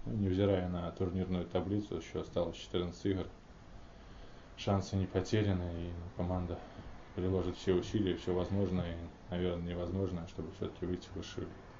невзирая на турнирную таблицу, еще осталось 14 игр. Шансы не потеряны, и команда приложит все усилия, все возможное и, наверное, невозможное, чтобы все-таки выйти в высшую